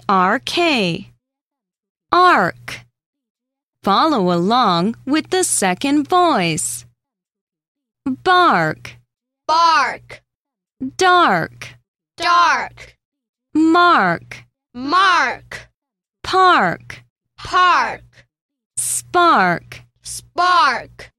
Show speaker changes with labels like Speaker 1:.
Speaker 1: A-R-K. Ark. Follow along with the second voice. Bark.
Speaker 2: Bark.
Speaker 1: Dark.
Speaker 2: Dark.
Speaker 1: Mark.
Speaker 2: Mark.
Speaker 1: Park.
Speaker 2: Park.
Speaker 1: Spark.
Speaker 2: Spark.